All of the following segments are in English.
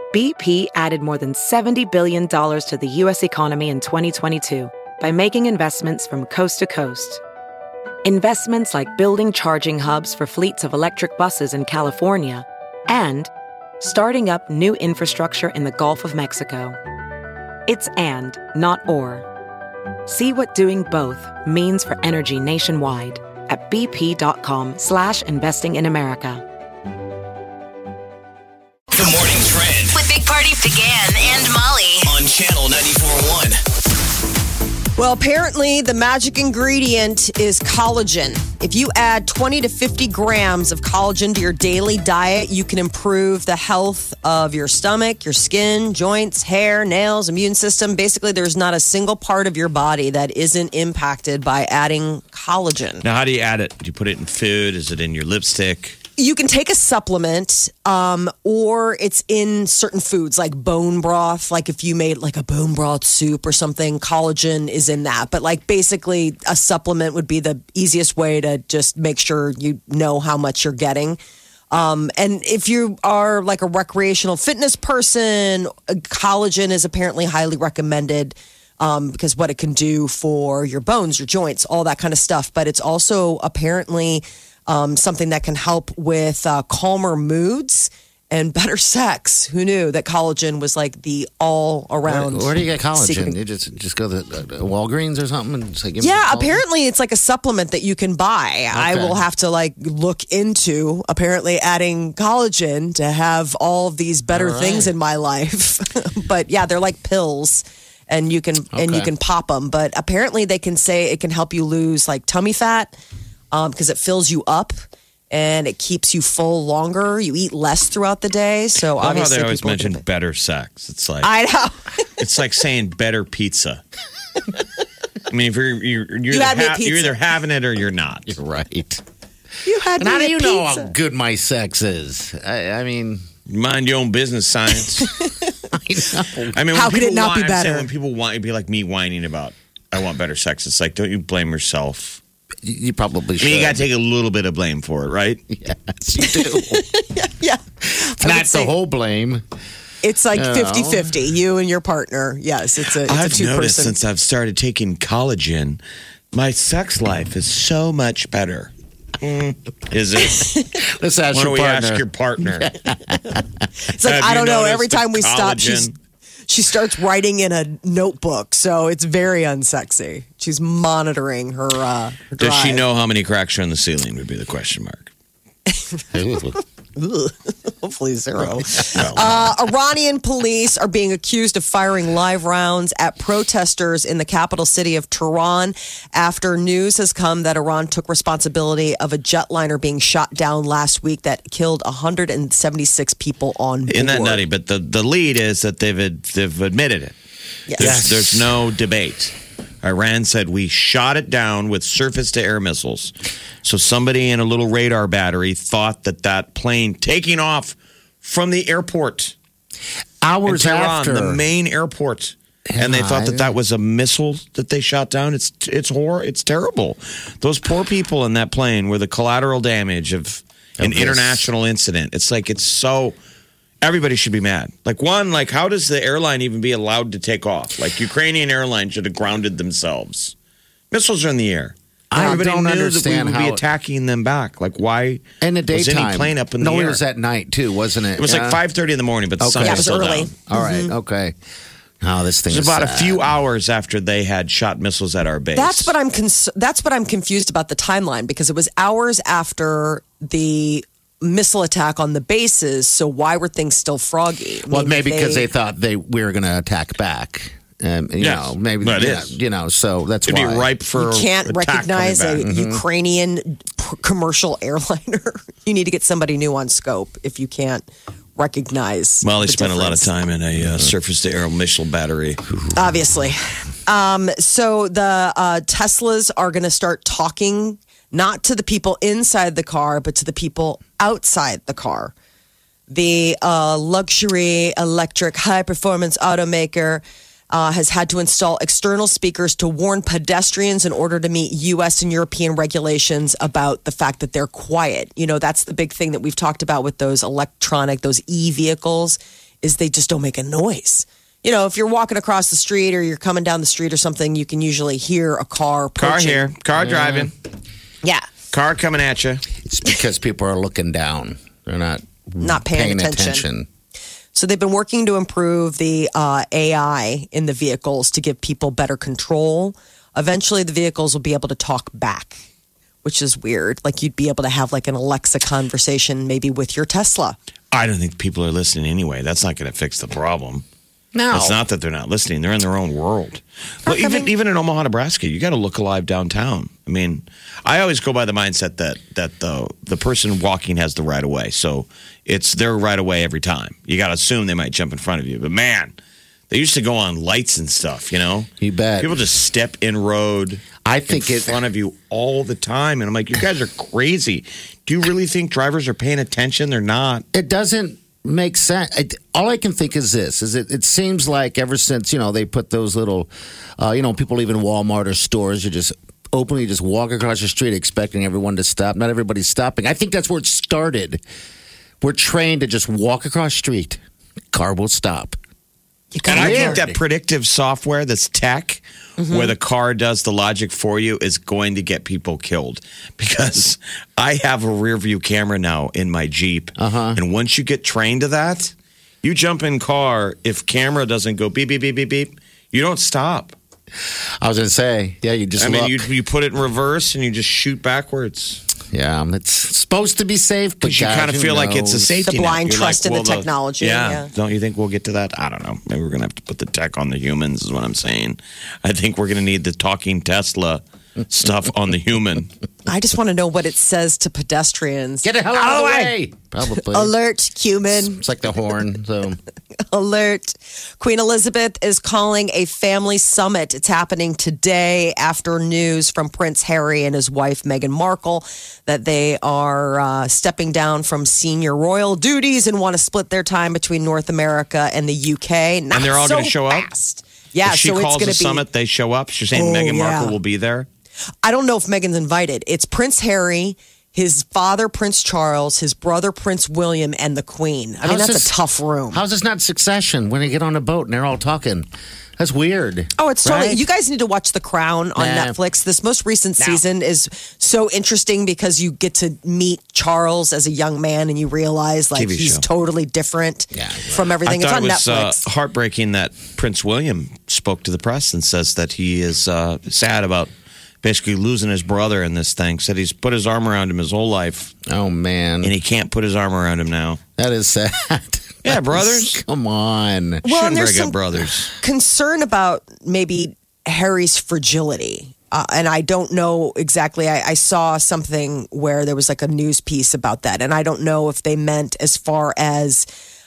BP added more than $70 billion to the U.S. economy in 2022 by making investments from coast to coast. Investments like building charging hubs for fleets of electric buses in California and starting up new infrastructure in the Gulf of Mexico. It's and, not or. See what doing both means for energy nationwide at bp.com/investing in America. The Morning Trend With Big Party began and Molly. on Channel 94.1. Well, apparently the magic ingredient is collagen. If you add 20 to 50 grams of collagen to your daily diet, you can improve the health of your stomach, your skin, joints, hair, nails, immune system. Basically, there's not a single part of your body that isn't impacted by adding collagen. Now, how do you add it? Do you put it in food? Is it in your lipstick? You can take a supplement, or it's in certain foods like bone broth. Like if you made like a bone broth soup or something, collagen is in that. But like basically a supplement would be the easiest way to just make sure you know how much you're getting. And if you are like a recreational fitness person, collagen is apparently highly recommended because what it can do for your bones, your joints, all that kind of stuff. But it's also apparently something that can help with calmer moods and better sex. Who knew that collagen was like the all around? Where do you get collagen? secret. You just go to Walgreens or something and say, give me Yeah, some collagen? apparently it's like a supplement that you can buy. I will have to like look into apparently adding collagen to have all of these better things in my life. But yeah, they're like pills. And you can pop them, but apparently they can say it can help you lose like tummy fat because it fills you up and it keeps you full longer. You eat less throughout the day, so I love how obviously they always people mention get it. better sex. It's like I know. it's like saying better pizza. I mean, if you're had me at you're either pizza. having it or you're not. You're right. You had And how me do at you know pizza. how good my sex is? I mean, You mind your own business, science. I know. I mean, How when could it people not be I'm saying better? when people want, it'd be like me whining about, I want better sex. It's like, don't you blame yourself? You probably I should. mean, you got to take a little bit of blame for it, right? Yes, you do. Yeah. Not the whole blame. It's like You know. 50-50, you and your partner. Yes, it's a I've two-person. noticed since I've started taking collagen, my sex life is so much better. Is it? Let's ask Why don't your we partner. ask your partner? It's like, Have I you don't know. noticed Every the time we stop, collagen? she starts writing in a notebook. So it's very unsexy. She's monitoring her drive. Does she know how many cracks are in the ceiling? Would be the question mark. Ugh. Hopefully zero. Iranian police are being accused of firing live rounds at protesters in the capital city of Tehran after news has come that Iran took responsibility of a jetliner being shot down last week that killed 176 people on board. Isn't that nutty? But the lead is that they've admitted it. Yes. There's no debate. Iran said we shot it down with surface-to-air missiles. So somebody in a little radar battery thought that plane taking off from the airport Hours in Tehran, after. the main airport, and they thought that was a missile that they shot down. It's terrible. Those poor people in that plane were the collateral damage of an this. international incident. It's like it's so. Everybody should be mad. Like, how does the airline even be allowed to take off? Like, Ukrainian airlines should have grounded themselves. Missiles are in the air. I Everybody don't knew understand that we would be how- attacking them back. Like, why In the was daytime. any plane up in the No, air? it was at night, too, wasn't it? It was like 5:30 in the morning, but the sun Okay. Yeah, was it was still early. down. All right, okay. Oh, this thing It was is about a sad. few hours after they had shot missiles at our base. That's what I'm confused about the timeline because it was hours after the missile attack on the bases. So why were things still froggy? I Well, mean, maybe because they thought we were going to attack back. You Yes. know, maybe Well, it yeah, is. you know, so that's It'd be why. ripe for you can't attack recognize coming a back. Ukrainian commercial airliner. You need to get somebody new on scope if you can't recognize. Well, they the spent a lot of difference. time in a surface-to-air missile battery. Obviously. So the Teslas are going to start talking not to the people inside the car, but to the people outside the car. The luxury electric high performance automaker has had to install external speakers to warn pedestrians in order to meet U.S. and European regulations about the fact that they're quiet. You know, that's the big thing that we've talked about with those those e-vehicles is they just don't make a noise. You know, if you're walking across the street or you're coming down the street or something, you can usually hear a car approaching. Car here, car driving, Yeah. car coming at you. It's because people are looking down. They're not paying attention. So they've been working to improve the AI in the vehicles to give people better control. Eventually, the vehicles will be able to talk back, which is weird. Like you'd be able to have like an Alexa conversation maybe with your Tesla. I don't think people are listening anyway. That's not going to fix the problem. No. It's not that they're not listening. They're in their own world. Well, even in Omaha, Nebraska, you got to look alive downtown. I mean, I always go by the mindset that the person walking has the right of way. So it's their right of way every time. You got to assume they might jump in front of you. But man, they used to go on lights and stuff, you know? You bet. People just step in road I think in front of you all the time. And I'm like, you guys are crazy. Do you really think drivers are paying attention? They're not. It doesn't make sense. All I can think is this: it seems like ever since they put those little, people leaving Walmart or stores, you just openly just walk across the street expecting everyone to stop. Not everybody's stopping. I think that's where it started. We're trained to just walk across the street. Car will stop. And I think that predictive software that's tech, where the car does the logic for you, is going to get people killed. Because I have a rear view camera now in my Jeep. And once you get trained to that, you jump in car, if camera doesn't go beep, beep, beep, beep, beep, you don't stop. I was going to say, yeah, you just look. You put it in reverse and you just shoot backwards. Yeah, it's supposed to be safe, but you kind of feel like it's a safety The blind net. You're trust in the technology. Yeah. Don't you think we'll get to that? I don't know. Maybe we're going to have to put the tech on the humans is what I'm saying. I think we're going to need the talking Tesla stuff on the human. I just want to know what it says to pedestrians. Get the hell out of the way. Probably. Alert, human. It's like the horn. So Alert. Queen Elizabeth is calling a family summit. It's happening today after news from Prince Harry and his wife, Meghan Markle, that they are stepping down from senior royal duties and want to split their time between North America and the UK. Not And they're all so going to show up? fast. Yeah, if she so it's calls going a to be summit, they show up. She's saying Meghan Markle will be there. I don't know if Meghan's invited. It's Prince Harry, his father, Prince Charles, his brother, Prince William, and the Queen. I mean, that's a tough room. How's this not Succession when they get on a boat and they're all talking? That's weird. Oh, it's totally. Right? You guys need to watch The Crown on Netflix. This most recent season is so interesting because you get to meet Charles as a young man and you realize like TV he's show. totally different from everything. It's I on thought it was Netflix. heartbreaking that Prince William spoke to the press and says that he is sad about basically losing his brother in this thing. Said he's put his arm around him his whole life. Oh, man. And he can't put his arm around him now. That is sad. Yeah, brothers. Come on. Well, Shouldn't and there's break up some brothers. concern about maybe Harry's fragility. And I don't know exactly. I saw something where there was like a news piece about that. And I don't know if they meant as far as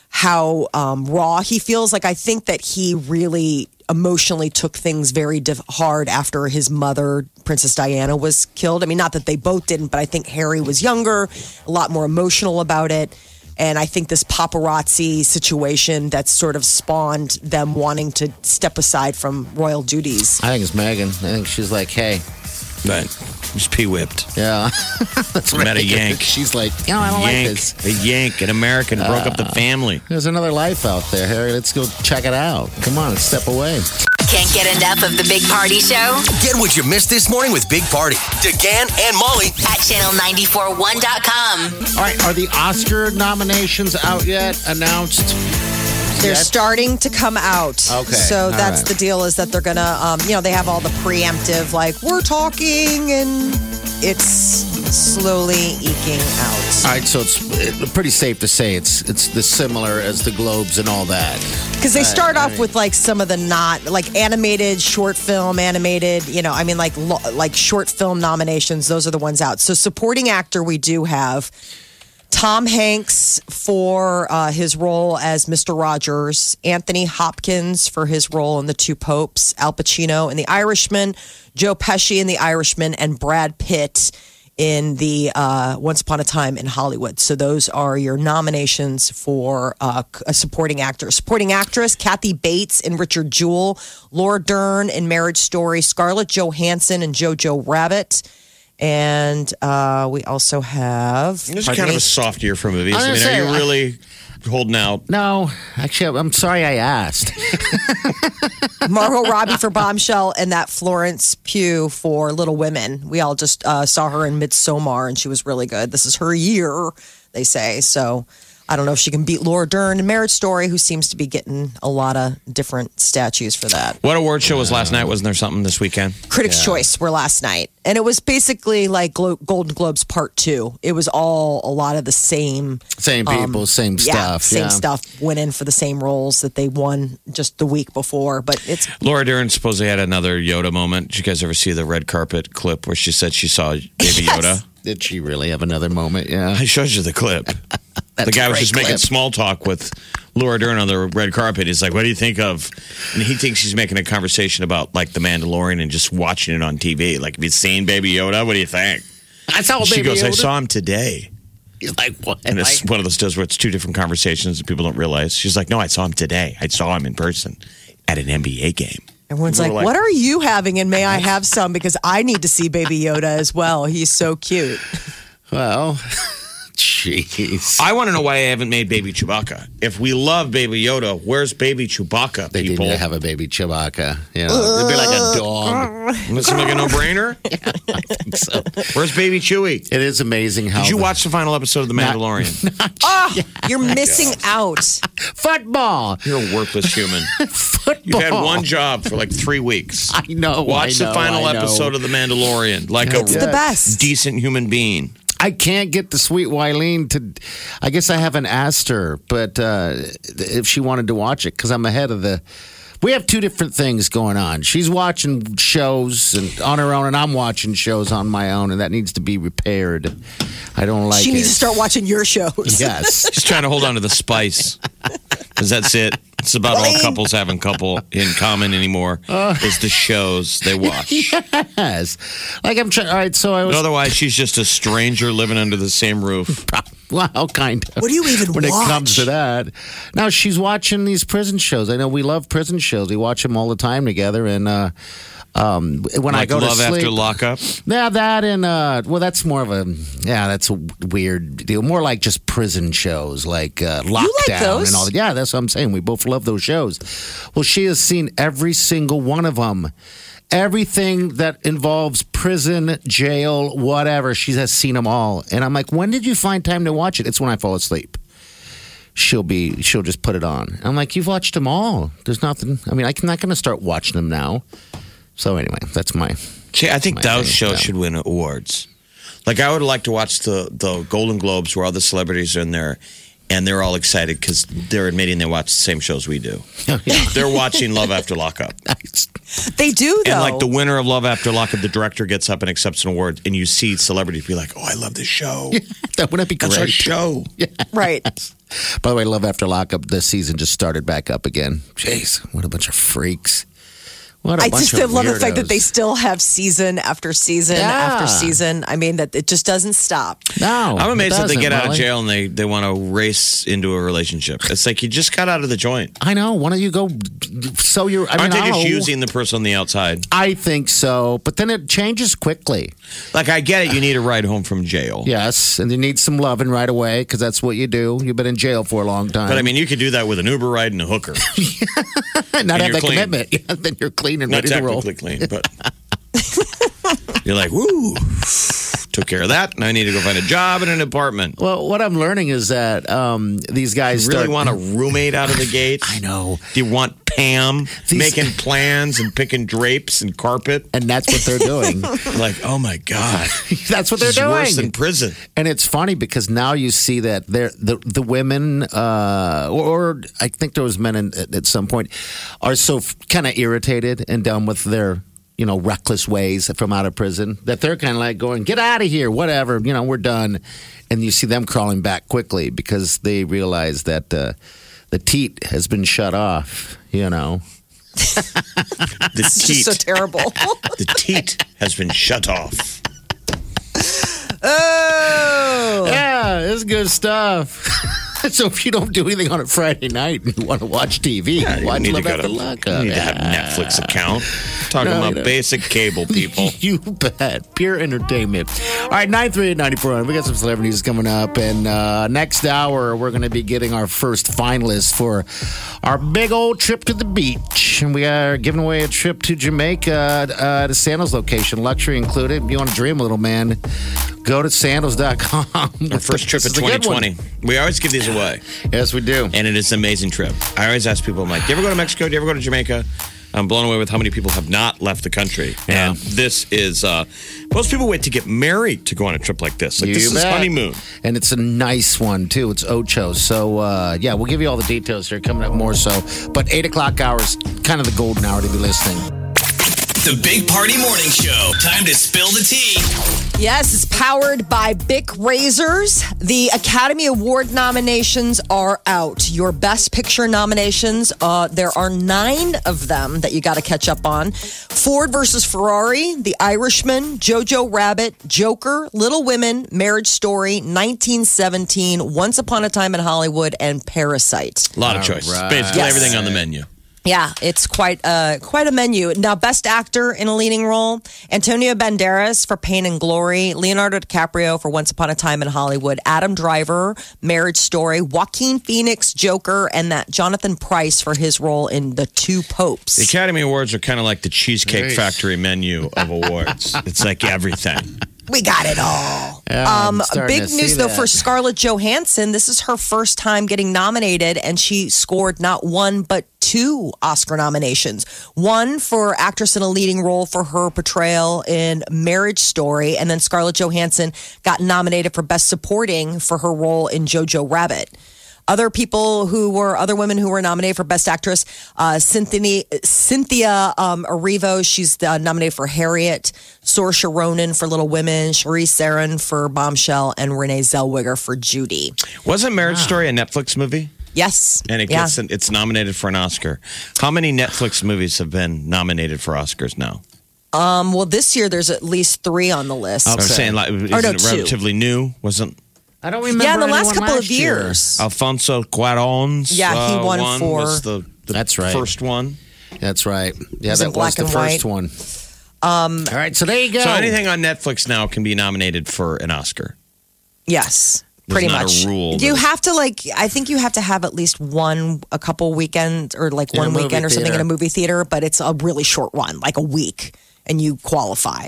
how raw he feels. Like, I think that he really emotionally took things very hard after his mother, Princess Diana, was killed. I mean, not that they both didn't, but I think Harry was younger, a lot more emotional about it. And I think this paparazzi situation that's sort of spawned them wanting to step aside from royal duties. I think it's Meghan. I think she's like, hey. But just pee whipped. Yeah. That's Met a yank. She's like, I don't like this. A yank, an American broke up the family. There's another life out there, Harry. Let's go check it out. Come on, step away. Can't get enough of the Big Party Show Get what you missed this morning with Big Party, DeGan and Molly. at channel941.com. All right, are the Oscar nominations out yet? Announced? They're starting to come out. Okay. So All that's right. the deal is that they're going to, they have all the preemptive, like, we're talking, and it's slowly eking out. All right, so it's pretty safe to say it's the similar as the Globes and all that. Because they start off with, like, some of the like, animated, short film, animated, like short film nominations. Those are the ones out. So supporting actor, we do have Tom Hanks for his role as Mr. Rogers, Anthony Hopkins for his role in The Two Popes, Al Pacino in The Irishman, Joe Pesci in The Irishman, and Brad Pitt in the Once Upon a Time in Hollywood. So those are your nominations for a supporting actor. Supporting actress, Kathy Bates in Richard Jewell, Laura Dern in Marriage Story, Scarlett Johansson in Jojo Rabbit, And we also have. This is kind of a soft year for movies. I I was mean, gonna are you say, really holding out? No, actually, I'm sorry I asked. Margot Robbie for Bombshell and that Florence Pugh for Little Women. We all just saw her in Midsommar, and she was really good. This is her year, they say. So I don't know if she can beat Laura Dern in Marriage Story, who seems to be getting a lot of different statues for that. What award show was last night? Wasn't there something this weekend? Critics' Choice were last night. And it was basically like Golden Globes Part 2. It was all a lot of the same. Same people, same stuff. Same stuff. Went in for the same roles that they won just the week before. But it's. Laura Dern supposedly had another Yoda moment. Did you guys ever see the red carpet clip where she said she saw Baby Yoda? Did she really have another moment? Yeah. I showed you the clip. The guy was just making small talk with Laura Dern on the red carpet. He's like, what do you think of? And he thinks he's making a conversation about like The Mandalorian and just watching it on TV. Like, have you seen Baby Yoda? What do you think? I saw She Baby goes, Yoda. I saw him today. He's like, what? And it's one of those deals where it's two different conversations that people don't realize. She's like, no, I saw him today. I saw him in person at an NBA game. Everyone's People like, were what are you having? And may I have some? Because I need to see Baby Yoda as well. He's so cute. Well, jeez. I want to know why I haven't made Baby Chewbacca. If we love Baby Yoda, where's Baby Chewbacca, They people? didn't have a baby Chewbacca. You know, it'd be like a dog. Doesn't that seem like a no-brainer? I think so. Where's Baby Chewie? It is amazing how. Did you watch the final episode of The Mandalorian? Oh, you're missing out. football? You're a worthless human. Football. You've had one job for like 3 weeks. I know. Watch the final episode of The Mandalorian like It's a the best. decent human being. I can't get the sweet Wileen to. I guess I haven't asked her, but if she wanted to watch it, because I'm ahead of the. We have two different things going on. She's watching shows and on her own, and I'm watching shows on my own, and that needs to be repaired. I don't like it. She needs to start watching your shows. Yes. She's trying to hold on to the spice. Because that's it. It's about all couples have in common anymore. Is the shows they watch. Yes. Like I'm trying. All right. So I was. Otherwise, she's just a stranger living under the same roof. Well, kind of. What do you even when watch? it comes to that? Now she's watching these prison shows. I know we love prison shows. We watch them all the time together. And when I go to Love sleep, After Lockup. yeah, that and well, that's more of a that's a weird deal. More like just prison shows, like Lockdown those? and all that. Yeah, that's what I'm saying. We both love those shows. Well, she has seen every single one of them. Everything that involves prison, jail, whatever, she has seen them all. And I'm like, when did you find time to watch it? It's when I fall asleep. She'll just put it on. I'm like, you've watched them all. There's nothing. I mean, I'm not going to start watching them now. So anyway, that's my. See, I think my those thing, shows yeah. should win awards. Like, I would like to watch the Golden Globes where all the celebrities are in there and they're all excited because they're admitting they watch the same shows we do. They're watching Love After Lockup. They do, though. And like the winner of Love After Lockup, the director gets up and accepts an award, and you see celebrities be like, "Oh, I love this show. That wouldn't be great. That's our show." Right. By the way, Love After Lockup, this season just started back up again. Jeez, what a bunch of freaks. What a I bunch just of love the fact that weirdos. they still have season after season after season. I mean, that it just doesn't stop. No, I'm amazed it that they doesn't, get out of Molly. jail and they want to race into a relationship. It's like you just got out of the joint. I know. Why don't you go sew your? I mean, Aren't they I just don't know. using the person on the outside? I think so, but then it changes quickly. Like, I get it. You need a ride home from jail. Yes, and you need some loving right away because that's what you do. You've been in jail for a long time. But I mean, you could do that with an Uber ride and a hooker. not have you're that clean. commitment. Yeah, then you're clean and Not ready to roll. technically clean, but you're like, woo, took care of that. Now I need to go find a job and an apartment. Well, what I'm learning is that these guys You really start- want a roommate out of the gate? I know, Do you want Pam These- making plans and picking drapes and carpet? and that's what they're doing. Like, oh my God. That's what they're This is worse doing. than prison. And it's funny because now you see that the women, or I think there was men at some point, are so kind of irritated and done with their reckless ways from out of prison that they're kind of like going, get out of here, whatever, we're done. And you see them crawling back quickly because they realize that the teat has been shut off, The It's just teat, so terrible. the teat has been shut off. Oh. Yeah, it's good stuff. So if you don't do anything on a Friday night and you want to watch TV, You why need live to after luck? You need to have a Netflix account. Talking about basic cable, people. You bet. Pure entertainment. All right, 938-9400. We got some celebrity news coming up. And next hour, we're going to be getting our first finalists for our big old trip to the beach. And we are giving away a trip to Jamaica at a Sandals location, luxury included. If you want to dream a little, man, go to sandals.com. Our first trip of 2020. We always give these away. Yes, we do. And it is an amazing trip. I always ask people, I'm like, do you ever go to Mexico? Do you ever go to Jamaica? I'm blown away with how many people have not left the country. Yeah. And this is, most people wait to get married to go on a trip like this. Like, You this is bet. honeymoon. And it's a nice one, too. It's Ocho. So, yeah, we'll give you all the details here coming up more so. But 8 o'clock hour is kind of the golden hour to be listening. The Big Party Morning Show. Time to spill the tea. Yes, it's powered by Bic Razors. The Academy Award nominations are out. Your Best Picture nominations, there are 9 of them that you got to catch up on. Ford versus Ferrari, The Irishman, Jojo Rabbit, Joker, Little Women, Marriage Story, 1917, Once Upon a Time in Hollywood, and Parasite. A lot of choices. right. Basically Yes. everything on the menu. Yeah, it's quite a menu. Now, Best Actor in a Leading Role, Antonio Banderas for Pain and Glory, Leonardo DiCaprio for Once Upon a Time in Hollywood, Adam Driver, Marriage Story, Joaquin Phoenix, Joker, and that Jonathan Pryce for his role in The Two Popes. The Academy Awards are kind of like the Cheesecake Nice. Factory menu of awards. It's like everything. We got it all. Yeah, I'm starting Big to news, see though, that. for Scarlett Johansson. This is her first time getting nominated, and she scored not 1, but 2 Oscar nominations. 1 for actress in a leading role for her portrayal in Marriage Story, and then Scarlett Johansson got nominated for Best Supporting for her role in Jojo Rabbit. Other women who were nominated for Best Actress, Cynthia Erivo, she's nominated for Harriet, Saoirse Ronan for Little Women, Charlize Theron for Bombshell, and Renee Zellweger for Judy. Wasn't Marriage Story a Netflix movie? Yes. And it's nominated for an Oscar. How many Netflix movies have been nominated for Oscars now? Well, this year there's at least 3 on the list. I was saying, like, isn't it 2. relatively new? Wasn't I don't remember. Yeah, in the last anyone couple of last year. years. Alfonso Cuarón's Yeah, he won one 4. was the That's right. first one? That's right. Yeah, was in that was black the and first white. one. All right, so there you go. So anything on Netflix now can be nominated for an Oscar. Yes. There's Pretty not a much. rule You that- have to I think you have to have at least a couple weekends or like In a one movie weekend or something in theater. a movie theater, but it's a really short run, like a week, and you qualify.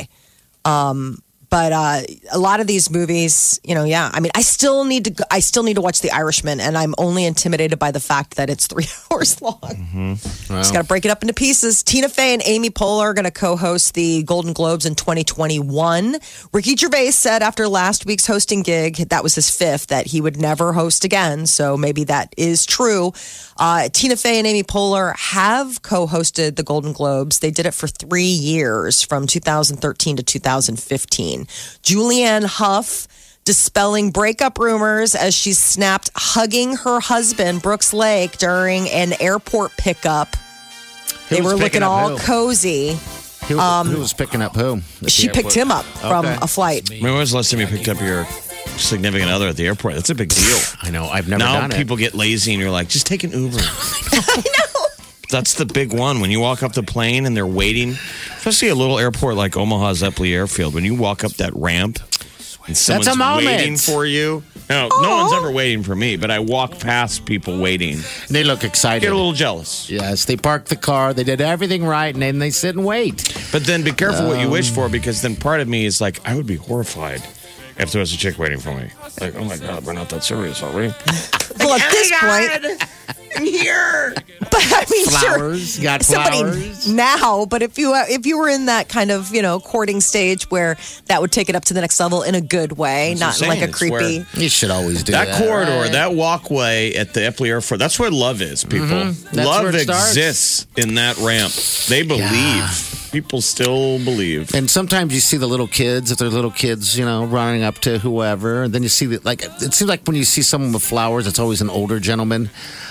But a lot of these movies, yeah. I mean, I still need to watch The Irishman, and I'm only intimidated by the fact that it's 3 hours long. Just got to break it up into pieces. Tina Fey and Amy Poehler are going to co-host the Golden Globes in 2021. Ricky Gervais said after last week's hosting gig, that was his 5th, that he would never host again. So maybe that is true. Tina Fey and Amy Poehler have co-hosted the Golden Globes. They did it for 3 years, from 2013 to 2015. Julianne Hough dispelling breakup rumors as she snapped hugging her husband, Brooks Lake, during an airport pickup. They was were picking looking up all who? cozy. Who was picking up who? At She the picked airport? him up from Okay. a flight. When was the last time you picked up your significant other at the airport? That's a big deal. I know. I've never Now done it. people get lazy and you're like, just take an Uber. I know. That's the big one. When you walk up the plane and they're waiting, especially a little airport like Omaha Zeppeli Airfield, when you walk up that ramp and someone's a moment. waiting for you. No one's ever waiting for me, but I walk past people waiting. They look excited. Get a little jealous. Yes, they parked the car. They did everything right, and then they sit and wait. But then be careful what you wish for, because then part of me is like, I would be horrified if there was a chick waiting for me. Like, oh my God, we're not that serious, are we? Well, at this point, I'm here. but I mean, Flowers, sure, got somebody flowers. now. But if you were in that kind of courting stage where that would take it up to the next level in a good way, That's not what in I'm like a saying. It's creepy. You should always do That that. corridor, right? that walkway at the Eppley Airport, that's where love is, people. That's Love where it starts. exists in that ramp. They believe. People still believe. And sometimes you see the little kids, if they're little kids, running up to whoever. And then you see that, it seems like when you see someone with flowers, it's always an older gentleman.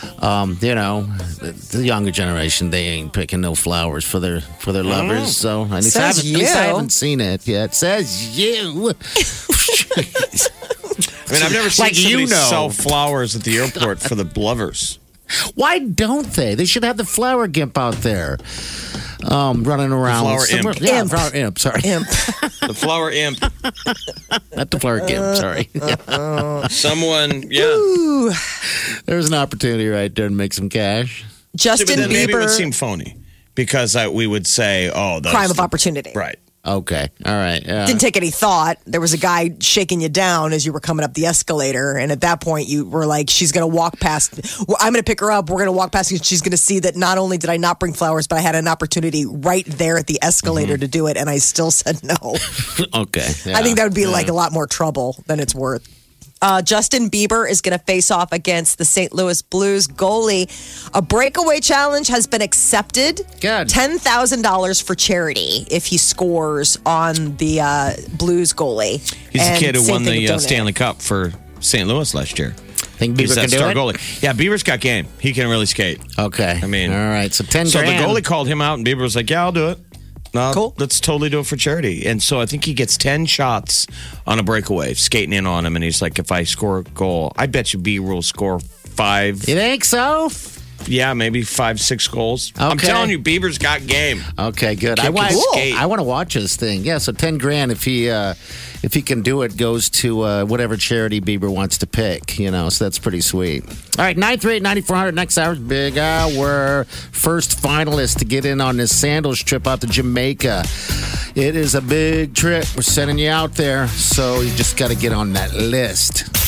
The younger generation, they ain't picking no flowers for their lovers. So at least, Says at least I you. haven't seen it yet. Says you. I mean, I've never seen Like, somebody you know. sell flowers at the airport for the lovers. Why don't they? They should have the flower gimp out there. Running around. flower somewhere. imp. Yeah, Imp. flower imp. Sorry. Imp. The flower imp. Not the flower gimp. Sorry. Someone, yeah. Ooh. There's an opportunity right there to make some cash. Justin But then maybe it would Bieber, seem phony because we would say, oh, that's crime of opportunity. Right. Okay. All right. Yeah. Didn't take any thought. There was a guy shaking you down as you were coming up the escalator. And at that point, you were like, she's going to walk past. I'm going to pick her up. We're going to walk past. And she's going to see that not only did I not bring flowers, but I had an opportunity right there at the escalator to do it. And I still said no. Okay. I think that would be like a lot more trouble than it's worth. Justin Bieber is going to face off against the St. Louis Blues goalie. A breakaway challenge has been accepted. Good. $10,000 for charity if he scores on the Blues goalie. He's And the kid who same won thing the with donate. Stanley Cup for St. Louis last year. Think He's Bieber that can do star it? goalie. Yeah, Bieber's got game. He can really skate. Okay. I mean, all right. So 10 So the grand. goalie called him out, and Bieber was like, "Yeah, I'll do it. No, Cool. Let's totally do it for charity." And so I think he gets 10 shots on a breakaway, skating in on him, and he's like, "If I score a goal, I bet you Bieber will score 5. You think so? Yeah, maybe 5, 6 goals." I'm Okay. telling you, Bieber's got game. Okay, good. Kid can skate. I want to watch this thing. Yeah, so 10 grand if he can do it goes to whatever charity Bieber wants to pick, you know. So that's pretty sweet. All right, 938-9400 next hour's big hour. First finalist to get in on this sandals trip out to Jamaica. It is a big trip. We're sending you out there, so you just got to get on that list.